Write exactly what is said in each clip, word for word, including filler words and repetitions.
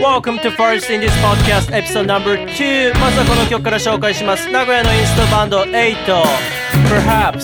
Welcome to First in this podcast episode number two まずはこの曲から紹介します。名古屋のインストバンドエイト Perhaps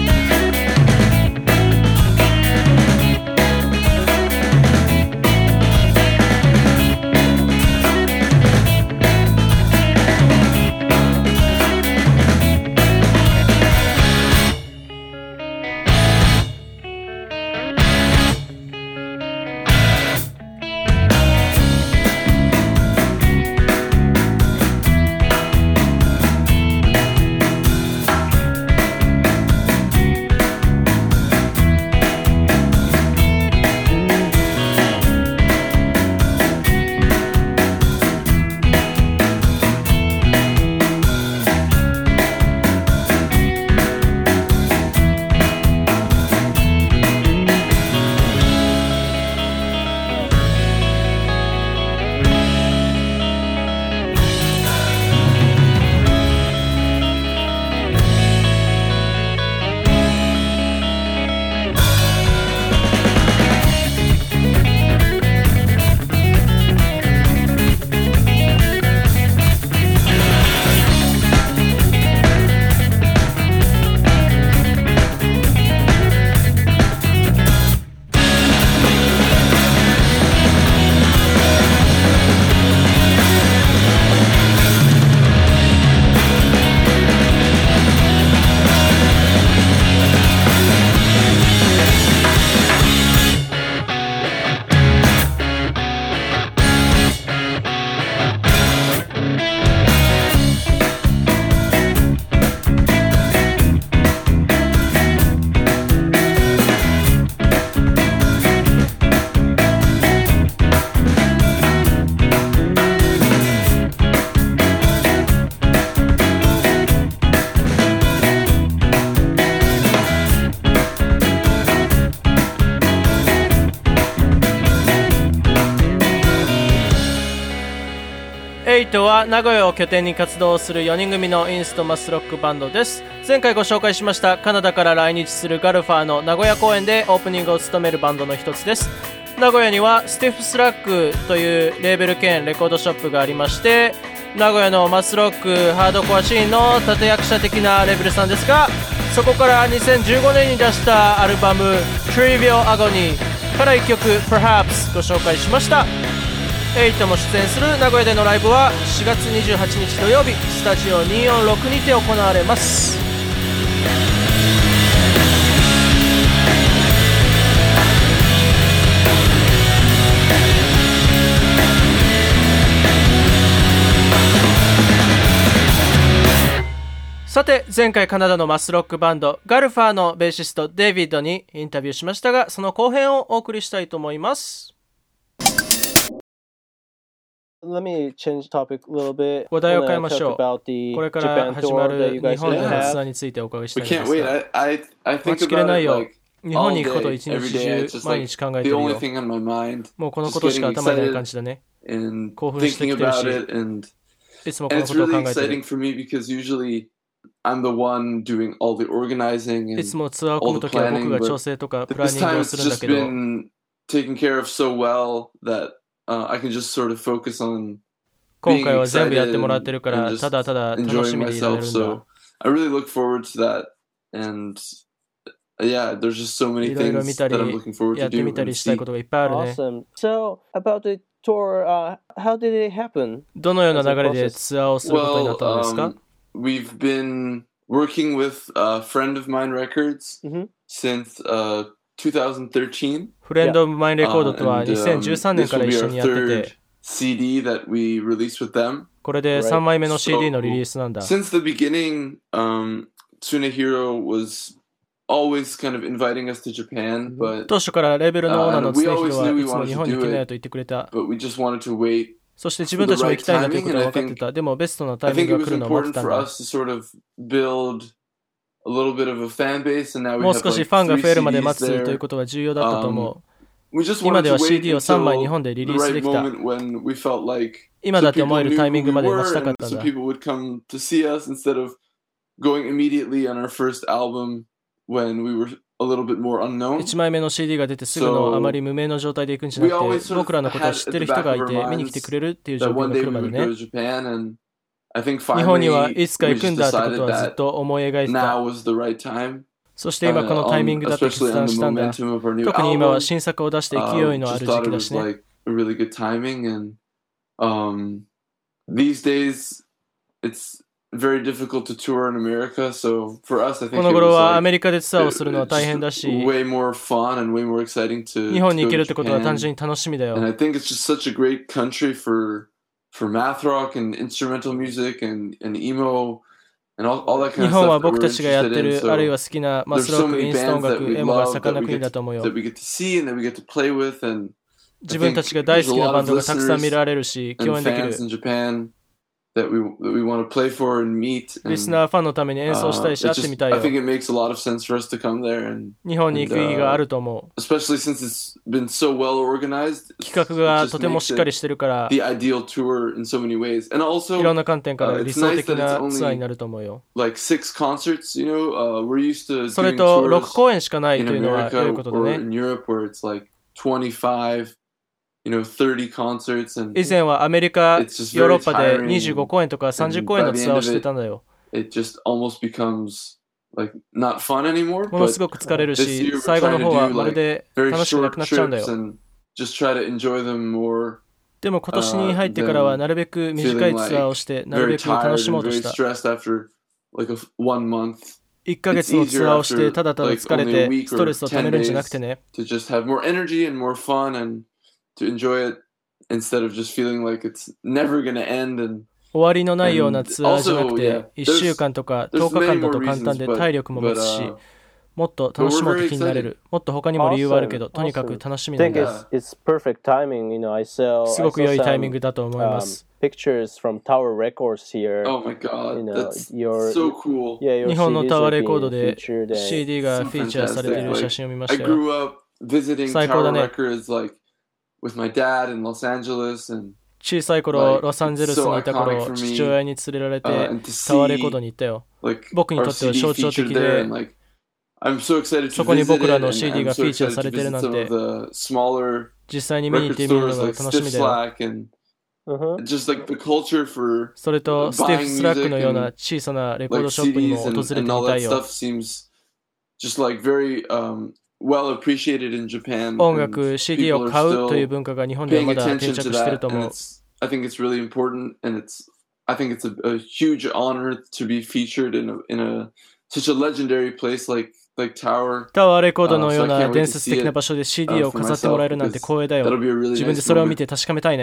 エイトは名古屋を拠点に活動するよにん組のインストマスロックバンドです。前回ご紹介しましたカナダから来日するガルファーの名古屋公演でオープニングを務めるバンドの一つです。名古屋にはスティフスラックというレーベル兼レコードショップがありまして、名古屋のマスロックハードコアシーンの立役者的なレベルさんですが、そこからにせんじゅうごねんに出したアルバム Trivial Agony からいっきょく Perhaps ご紹介しました。エイトも出演する名古屋でのライブはしがつにじゅうはちにち土曜日スタジオにひゃくよんじゅうろくにて行われます。さて前回カナダのマスロックバンドガルファーのベーシストデイビッドにインタビューしましたが、その後編をお送りしたいと思います。 Let me change topic a little bit. 話題を変えましょう。これから始まる日本でのツアーについてお伺いしたいんですが、待ちきれないよ。日本に行くことを一日中毎日考えてるよ。もうこのことしか頭にない感じだね。興奮してきてるし、いつもこのことを考えてる。いつもツアーを組むときは僕が調整とかプランニングをするんだけど、 Uh, I can just sort of focus on 今回は全部やってもらってるからただただ楽しみにいられるんだ。 So I really look forward to that, and yeah, there's just so many things that I'm looking forward to do. やってみたりしたいことがいっぱいあるね。 Awesome. So about the tour, uh, how did it happen? どのような流れでツアーをすることになったのですか？ Well, um, we've been working with a friend of mine records mm-hmm. since uh, twenty thirteen. フレンドオブマインレコードとはにせんじゅうさんねんから一緒にやってて、 シーディー that we released with them. これでさんまいめの シーディー のリリースなんだ。 So, since the beginning, um, Tsunehiro was always kind of inviting us to Japan, but 当初からレーベルのオーナーの常広はいつも日本に来なよと言ってくれた。 But we just wanted to wait. そして自分たちも行きたいんだということは分かってた。でもベストなタイミングが来るのを待ってたんだ。もう少しファンが増えるまで待つということは重要だったと思う。今では シーディー をさんまい日本でリリースできた。今だって思えるタイミングまで待ちたかったんだ。 a little bit more unknown. いちまいめの シーディー が出てすぐのあまり無名の状態で行くんじゃなくて、僕らのことを知ってる人がいて見に来てくれるっていう状況が来るまでね。日本にはいつか行くんだってことはずっと思い描いてた。そして今このタイミングだって決断したんだ。特に今は新作を出して勢いのある時期だしね。 These days, it's very difficult to tour in America, so for us, I think この頃はアメリカでツアーをするのは大変だし、 way more fun and way more exciting to 日本に行けるってことは単純に楽しみだよ。 And I think it's just such a great country for for math rock and instrumental music and and emo and all all that kind of stuff. 日本は僕たちがやってるあるいは好きなマスロック、インスト音楽、エモが盛んな国だと思うよ。 That we get to see and that we get to play with and 自分たちが大好きなバンドがたくさん見られるし、共演できる。 That we, that we want to play for and meet. And, リスナーファンのために演奏したりし、会ってみたいよ。 I think it makes a lot of sense for us to come there and, 日本に行く意義があると思う。 especially since it's been so well organized. 企画がとてもしっかりしてるから、 the ideal tour in so many ways. And also, いろんな観点から理想的なツアーになると思うよ。 Like six concerts, you know, uh, we're used to それとろく公演しかないというのは良いことだね。 In Europe where it's like twenty-five.You know, thirty concerts and 以前はアメリカ、ヨーロッパでにじゅうご公演とかさんじゅう公演のツアーをしてたんだよ。 It just almost becomes like not fun anymore. ものすごく疲れるし、最後の方はまるで楽しくなくなっちゃうんだよ。でも今年に入ってからはなるべく短いツアーをしてなるべく楽しもうとした。いっかげつのツアーをしてただただ疲れてストレスをためるんじゃなくてね。 To enjoy it instead of just feeling like it's never going to end and 終わりのないようなツアーじゃなくていっしゅうかんとかとおかかんだと簡単で体力も持つしもっと楽しもうと気になれるもっと他にも理由はあるけどとにかく楽しみなんだすごく良いタイミングだと思います Pictures from Tower Records here. Oh my god, that's so cool. 日本のタワーレコードで シーディー がフィーチャーされている写真を見ましたよ I grew up visiting Tower Records like with my dad in Los Angeles and 小さい頃ロサンゼルスにいた頃父親に連れられてタワーレコードに行ったよ僕にとっては象徴的でそこに僕らの シーディー がフィーチャーされてるなんて実際に見に行ってみるのが楽しみだよそれとスティフ・スラックのような小さなレコードショップにも訪れてみたいよ音楽 シーディー を買うという文化が日本ではまだ定着していると思う。 I think it's really important and it's I think it's a, a huge honor to be featured in a, in a such a legendary place like like Tower. タワーレコードのような伝説的な場所で シーディー を飾ってもらえるなんて光栄だよ。自分でそれを見て確かめたい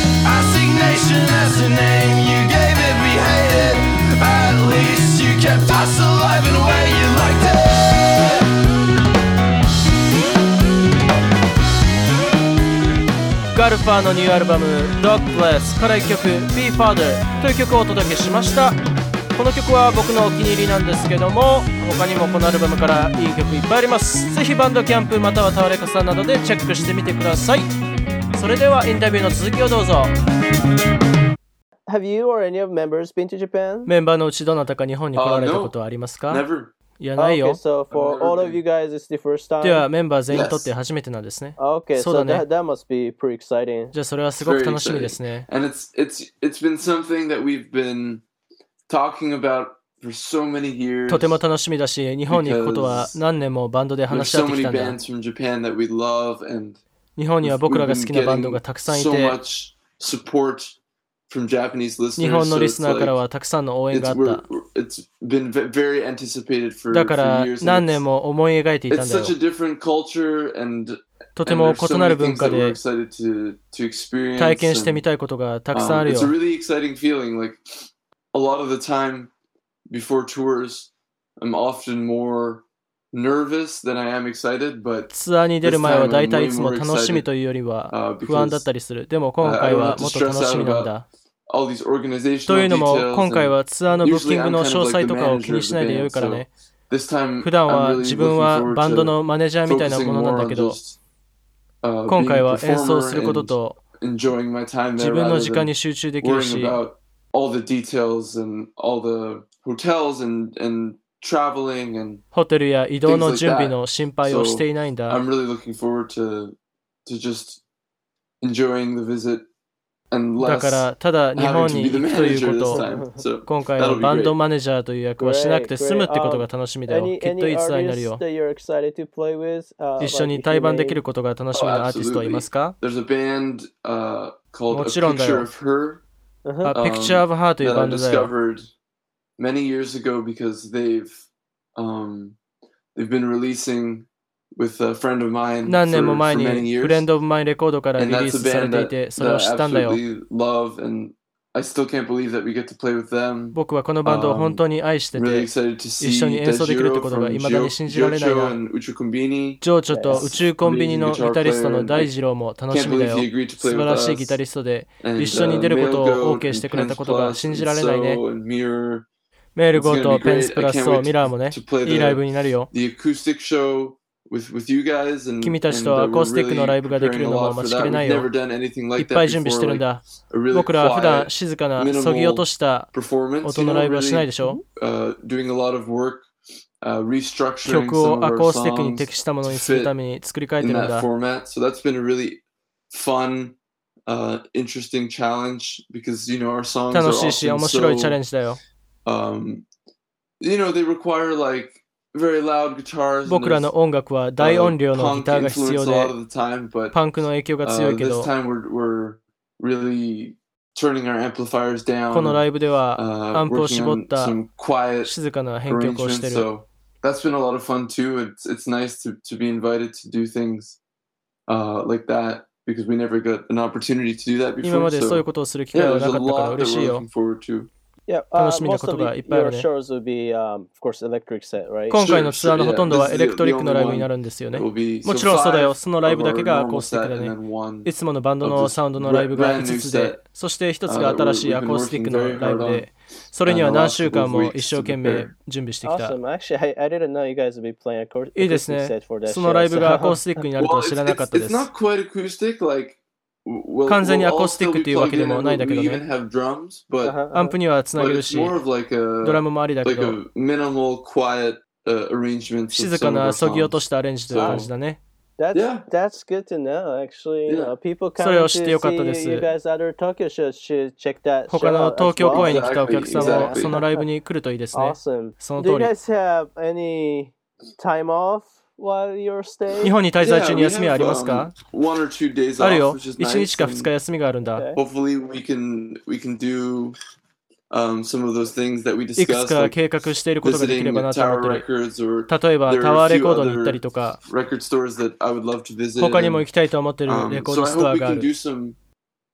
ね。Kept hustle life in a way you liked it. ガルファーのニューアルバム Dog Bless からいっきょく Be Father という曲をお届けしました。この曲は僕のお気に入りなんですけども、他にもこのアルバムからいい曲いっぱいあります。ぜひバンドキャンプまたはタワレカさんなどでチェックしてみてください。それではインタビューの続きをどうぞ。 Have you or any of members been to Japan? メンバーのうちどなたか日本に来られたことはありますか？ Uh, no, never. いや、ないよ。 Okay, so for all of you guys, it's the first time. ではメンバー全員にとって初めてなんですね。 Okay, そうだ so ね。 that, that must be pretty exciting. じゃあそれはすごく楽しみですね。 And it's it's it's been something that we've been talking about for so many years. とても楽しみだし、日本に行くことは何年もバンドで There's 話し合っ so てき many たんだ。 bands from Japan that we love, and 日本には we've, 僕ら we've が好 been きなバンド getting がたくさんい so て、 much support from Japanese listeners. 日本の So リ it's スナーから like はたくさんの応援 it's があっ we're, た。 it's been ve- very anticipated for, だか for ら years. 何 And 年 it's, も思い描いていたん it's だよ。 such a different culture, and とて and も there's so 異なる many 文 things 化 that we're で excited to to experience. 体験してみ And, たいことがたくさんあ um, るよ。 it's a really exciting feeling. Like a lot of the time before tours, I'm often more nervous than I am excited, but ツアーに出る前はだいたいいつも楽しみというよりは不安だったりする。でも今回はもっと楽しみなんだ。 all these と organizational いうのも details. 今回 And はツアーのブッキ usually ング I'm の kind 詳 of 細 like と the かを manager 気に of し the ないでよい band. から So ね。 this time 普段 I'm は really 自分 looking は forward バンド to のマネージャーみたいな focusing ものなん more だ on けど、 just uh, 今 being 回 a は演奏す performer ること and と enjoying my time 自 there 分の rather 時間 than に集中できる worrying し、 about all the details and all the hotels and and traveling and ホテルや移動 things の like 準備 that. の心配をしていないんだ。 I'm really looking forward to to just enjoying the visit and だ less からただ日 having 本 to に be the 行くという manager こ this と、 time. So 今回は that'll be バンド great. マネージャーという役はしなくて Great, 済むってこと great. が楽しみだよ。 Any きっと any いいツアーになる artists よ。 that you're excited to play with? Uh, 一緒 like に if 対 you バンで may- きることが楽しみ Oh, なアーティストはいますか？ There's a band uh, called A もちろんだよ。 Picture of Her Uh-huh. あ、Picture of Her という that バ I ンドだよ。 discovered many years ago because they've um, they've been releasing with a friend of mine 何年も for, 前 for many に years. フレンドオブマインレコードからリ And リー that's a スされ band てい that, て、それ that を I 知ったんだよ。 absolutely love, and I still can't believe that we get to play with them. 僕はこのバンドを本当に愛して I'm really て、 excited to see 一緒に演奏できるって Dajiro ことが from 未だに Gio- 信じられない Giocho な。 and Uchu Kombini. ジョーチョと宇宙コンビニのギタリストの大二郎も楽し Can't みだ believe よ。 he agreed to 素 play 晴 with らしいギ us. タリストで、 And 一緒に uh, 出ることを Mailgoat OK してく and れた Pens ことが Plus 信 and じられないね。 So and Mirror. メールゴー It's と gonna be ペン great. スプ I ラス can't と wait ミラーもね、 to play いいライ the ブになるよ。 the acoustic show with with you guys, and 君たち and と uh, アコー we're スティックの really ライブができ preparing る a のも lot for 待ちき that. れな We've いよ。 never done anything いっ like ぱ that い準備してる before. んだ。 Like a really 僕らは普段 quiet 静かなそぎ落とした performance. 音 You の know, ライブはしない really でしょ。 uh, doing a lot of work, uh, restructuring 曲 some を of ア our コースティックに songs 適したもの to にする fit ために作り変えて in るん that だ。 format. So that's been a really fun, uh, interesting challenge because you know our songs are 楽しいし often 面白いチャレ so ンジだよ。 um, you know they require like very loud guitars. And 僕らの there's 音楽は大 uh, 音量のギ punk ターが必 influence 要 a で、 lot of the time, but パンクの影響が強 uh, いけ this ど、 time we're we're really turning our amplifiers この down, ライブでは uh, アンプを working 絞っ on た some quiet 静かな編曲をして arrangements. る。 So that's been a lot of fun too. It's it's nice to to be invited to do things uh, like that because we never got an opportunity to do that 今 before. までそういう So ことをする機会 yeah, は there's な a かったから lot that 嬉しい we're よ。 looking forward to. Yeah, uh, 楽しみな most こと of がいっ the, ぱいあ your るね。 shows will be, um, of course, electric set, right? 今回のツアーの Sure, ほとんどは sure, yeah. エレクトリックの This ライ is ブ the に only なるんですよね。 It will be も so ちろんそうだよ。 five そのライブ of だけ our がアコー normal スティック set だ and ね。 then one いつものバンド of の this サウンドのライブが brand 5 new つで set、 そしてひとつ uh, が that 新し we're, い we've ア been コースティック working の very ライ hard ブ on で、それには uh, the 何 last 週 couple 間 of も weeks 一生 to 懸命 prepare. 準備してきた。 Awesome. Actually, I, I didn't know you guys would be playing acor- いいです acoustic ね。 set for that その show. ライブがアコー So. スティックになると Well, は it's, 知らなか it's, ったで it's す。 not quite acoustic. Like we'll, 完全に we'll アコー all スティッ still ク be というわ plugged けで in, もないん and だけ we ど even ね。 have drums, but Uh-huh, アンプ uh-huh. にはつな but げる it's し、 more of like ドラ a ムもありだけ like ど、 a minimal, quiet uh, arrangements of 静 some か of な our そぎ落と songs. したアレンジという感じだね。 That's Yeah. that's good to know. Actually, Yeah. uh, people それ coming を知ってよかった to で see す。 you guys other Tokyo shows should check that 他 show の out 東 as 京公 well. 演に来たお客さんも Exactly. そのライブに来るといいですね。 Awesome. その Do you 通り。 guys have any time off while you're 日 staying? 本に滞在中 Yeah, に we 休みはあ have ります um, か？ one or two days ある off, よ。 which is いちに nice. ちかふつか And 休みがあるんだ。 Okay. hopefully we can we can do um, some of those things that we いくつ discussed, か like 計画していることができれ visiting ばなと思 Tower ってる。 Records, or 例えば there タ are ワー a レ few コードに行ったり other とか、 record stores that I would love to visit. 他にも And, 行きたいと思ってる um, レコー so ド I ストア hope we があ can る。 do some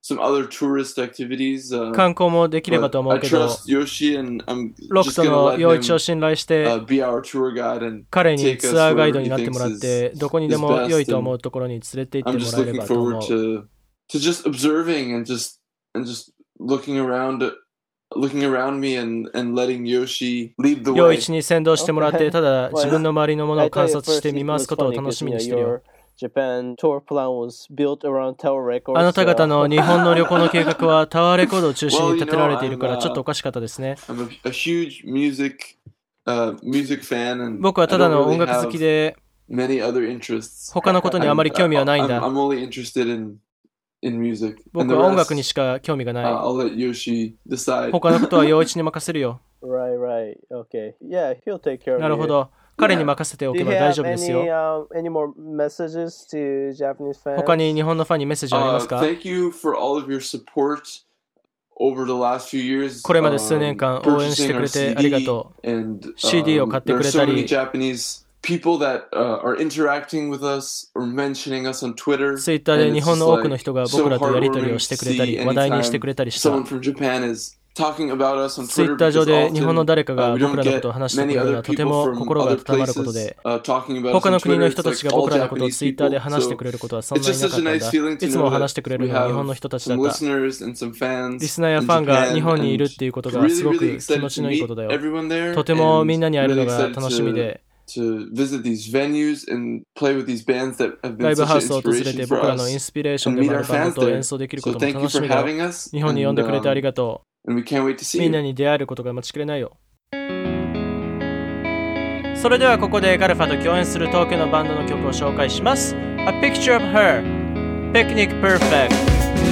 some other tourist activities. Uh, 観光もできればと思 but う I けど、 trust Yoshi, and I'm ロク just ト gonna の let 陽一を him 信頼して、 uh, be our tour guide and 彼に take ツ us アーガイ wherever ドに he なっても thinks らっ is, て、どこに is でも良い best. と思 And うところに連れて行っ I'm ても just らえれ looking ばと思 forward う。 to to just observing and just and just looking around, looking around me and and letting Yoshi lead the 陽 way. 一に先導してもらって、 Okay. ただ Well, 自分の周りのもの I を thought 観 at 察し first て it 見回 was すことを funny 楽 because しみ you に know してるよ。 your Japan tour plan was built around Tower あ Records. なた方 So の日本の旅行の計画はタワーレコードを中心 Well, に you 立てら know, れているから I'm ちょっとお uh, かしかったですね。 I'm a, a huge music uh, music fan, and 僕は I ただ don't の音 really 楽好 have きで many other interests. 他のことにあまり I'm, 興味はないん I'm, だ。 I'm only interested in in music, 僕 and the は音楽に rest しか興味がな uh, い。 I'll let Yoshi decide. 他のことは陽一に任せるよ。 right, right, okay, yeah, he'll take care of なるほ you. ど。彼に任せてお Do け you ば大 have 丈夫ですよ。 any um any more messages to Japanese fans? 他に日本のファンにメッセージはありま Uh, すか？ thank you for all of your support over the last few years. これまで数年 um, 間応援してく purchasing our れてありが C D, とう。 and シーディー を um, 買って there く are れ so た many り、 Japanese people that uh, are interacting with us or mentioning us on Twitter. ツイッター and で日 it's 本 just の多くの like 人が so 僕らとやり取り heartwarming をし to てくれた see り、話題にして anytime くれたりした。 someone from Japan is talking about us on ツイ Twitter ッター上 because で日本の often 誰か uh, が we 僕 don't らのこ get とを話してく many れるの other はとて people も from 心が other 温まること places で、 uh, talking about us 他 on の国 Twitter. の It's 人た like ちが all 僕らのことを Japanese ツイッターで people. 話して So くれることはそん it's なに just なか such った a ん nice だ。 feeling い to つも know 話し that てくれ we るのは日 have 本の人たちだ some った。 listeners and some fans リスナーや in ファンが Japan, 日本にいる and っていうことが really, すご really く気 excited 持ち to のいい meet ことだよ。 everyone there, とても and みんなに会える really のが excited 楽しみ to で、 to visit these venues and play with these bands that have ラ been イブ such ハウ an スを訪れ inspiration て for 僕らのイン us スピレーション and でも meet あ our るバンド fans と演 there. 奏できるこ So とも thank you 楽し for みだよ。 having us, 日本に呼ん and でくれてあり um, がと and we can't wait to う。 see みんな you. に出会えることが待ちきれないよ。それではここでガルファと共演する東京のバンドの曲を紹介します。A Picture of Her Picnic Perfect。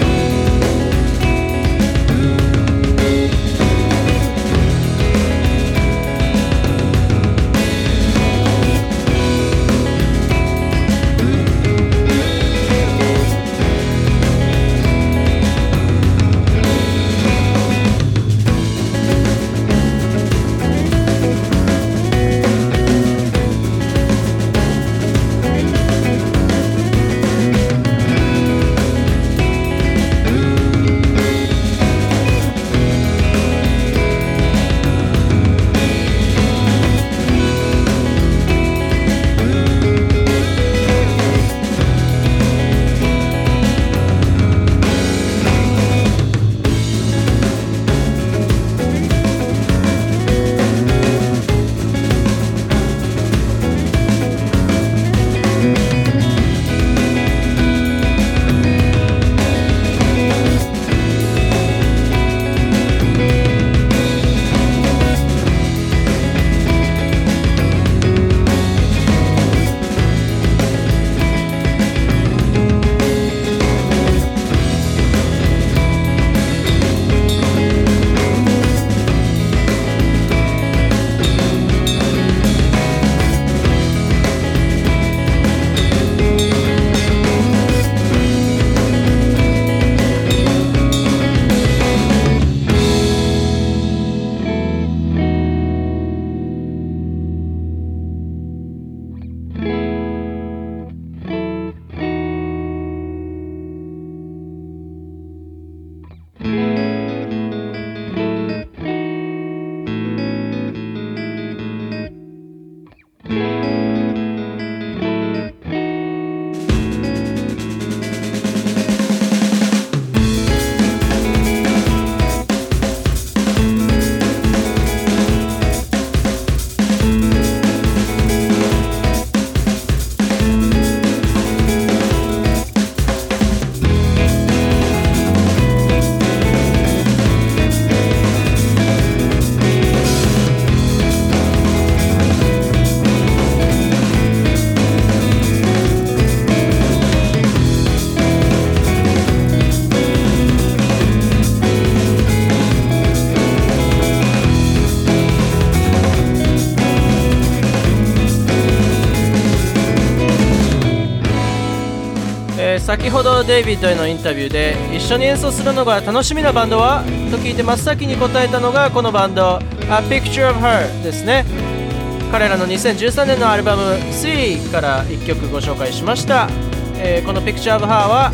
先ほどデイビッドへのインタビューで一緒に演奏するのが楽しみなバンドはと聞いて真っ先に答えたのがこのバンド A Picture of Her ですね。彼らのにせんじゅうさんねんのアルバム C からいっきょくご紹介しました。えー、この Picture of Her は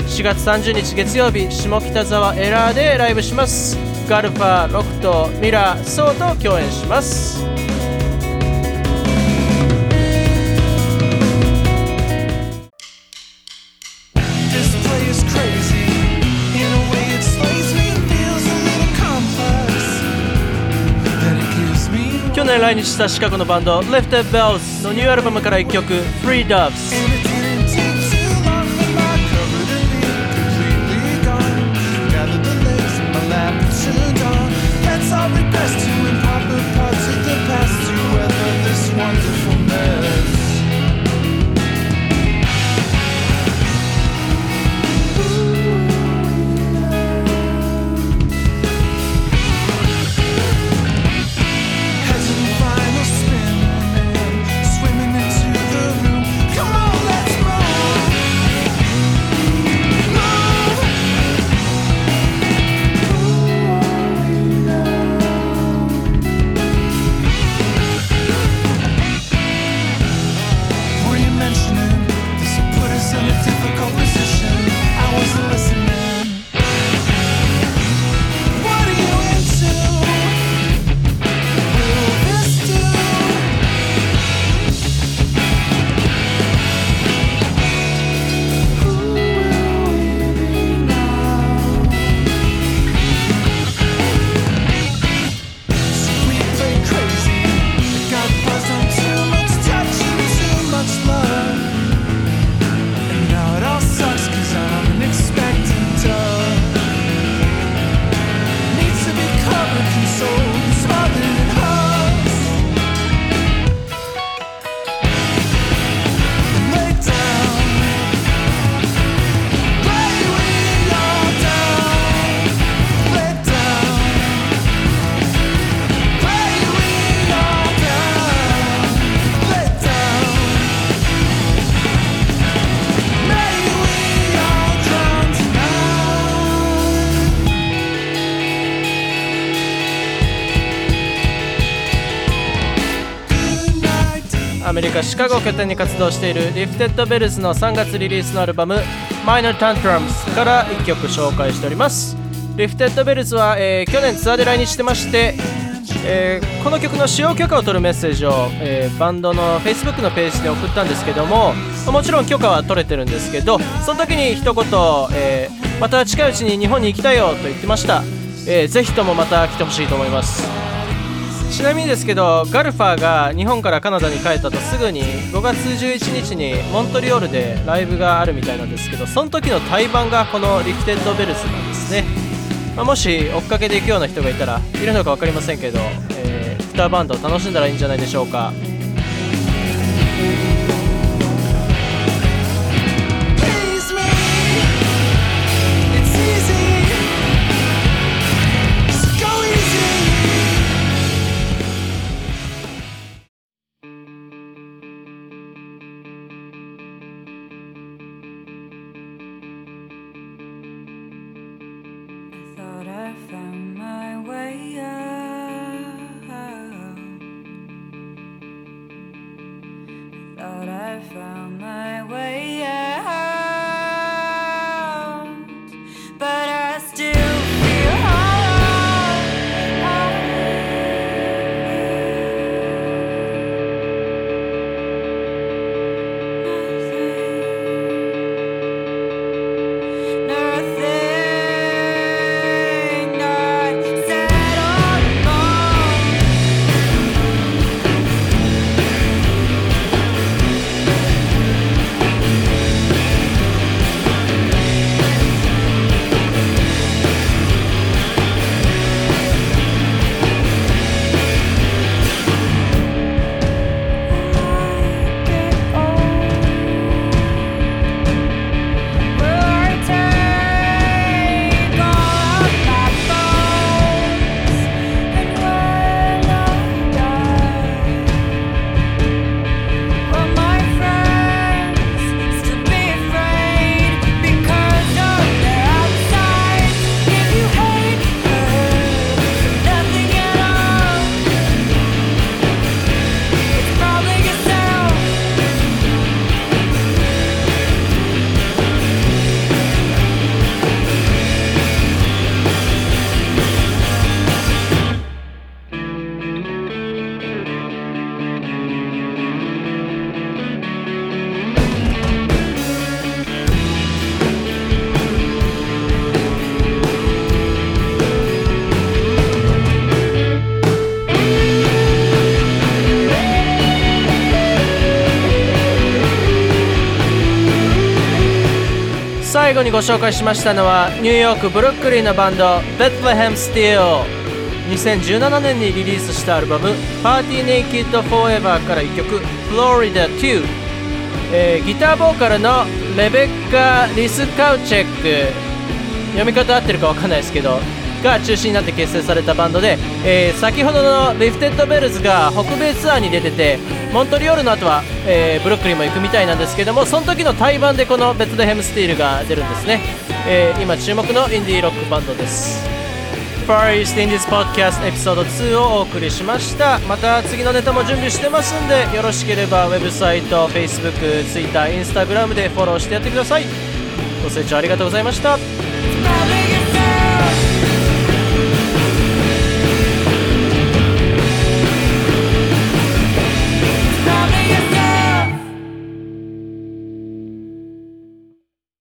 しがつさんじゅうにち月曜日、下北沢エラーでライブします。ガルファ、ロクト、ミラー、ソーと共演します。去年来日したシカゴのバンド Lifted Bells のニューアルバムからいっきょく Free Doves。アメリカ・シカゴを拠点に活動しているリフテッドベルズのさんがつリリースのアルバム Minor Tantrums からいっきょく紹介しております。リフテッドベルズは、えー、去年ツアーで来日してまして、えー、この曲の使用許可を取るメッセージを、えー、バンドの Facebook のページで送ったんですけども、もちろん許可は取れてるんですけど、その時に一言、えー、また近いうちに日本に行きたいよと言ってました。えー、ぜひともまた来てほしいと思います。ちなみにですけど、ガルファーが日本からカナダに帰ったとすぐにごがつじゅういちにちにモントリオールでライブがあるみたいなんですけど、その時の対バンがこのリフテッドベルズなんですね。まあ、もし追っかけていくような人がいたらいるのか分かりませんけど、えー、ギターバンドを楽しんだらいいんじゃないでしょうか。 最後にご紹介しましたのはニューヨークブルックリンのバンド Bethlehem Steel。にせんじゅうななねんにリリースしたアルバム Party Naked Forever からいっきょく Florida ツー、えー、ギターボーカルのレベッカ・リスカウチェック、読み方合ってるか分かんないですけどが中心になって結成されたバンドで、えー、先ほどのリフテッドベルズが北米ツアーに出ててモントリオールの後は、えー、ブルックリンも行くみたいなんですけども、その時の対バンでこのベツレヘムスティールが出るんですね。えー、今注目のインディーロックバンドです。Far East Indies Podcast エピソードツーをお送りしました。また次のネタも準備してますんで、よろしければウェブサイト、Facebook、Twitter、Instagram でフォローしてやってください。ご清聴ありがとうございました。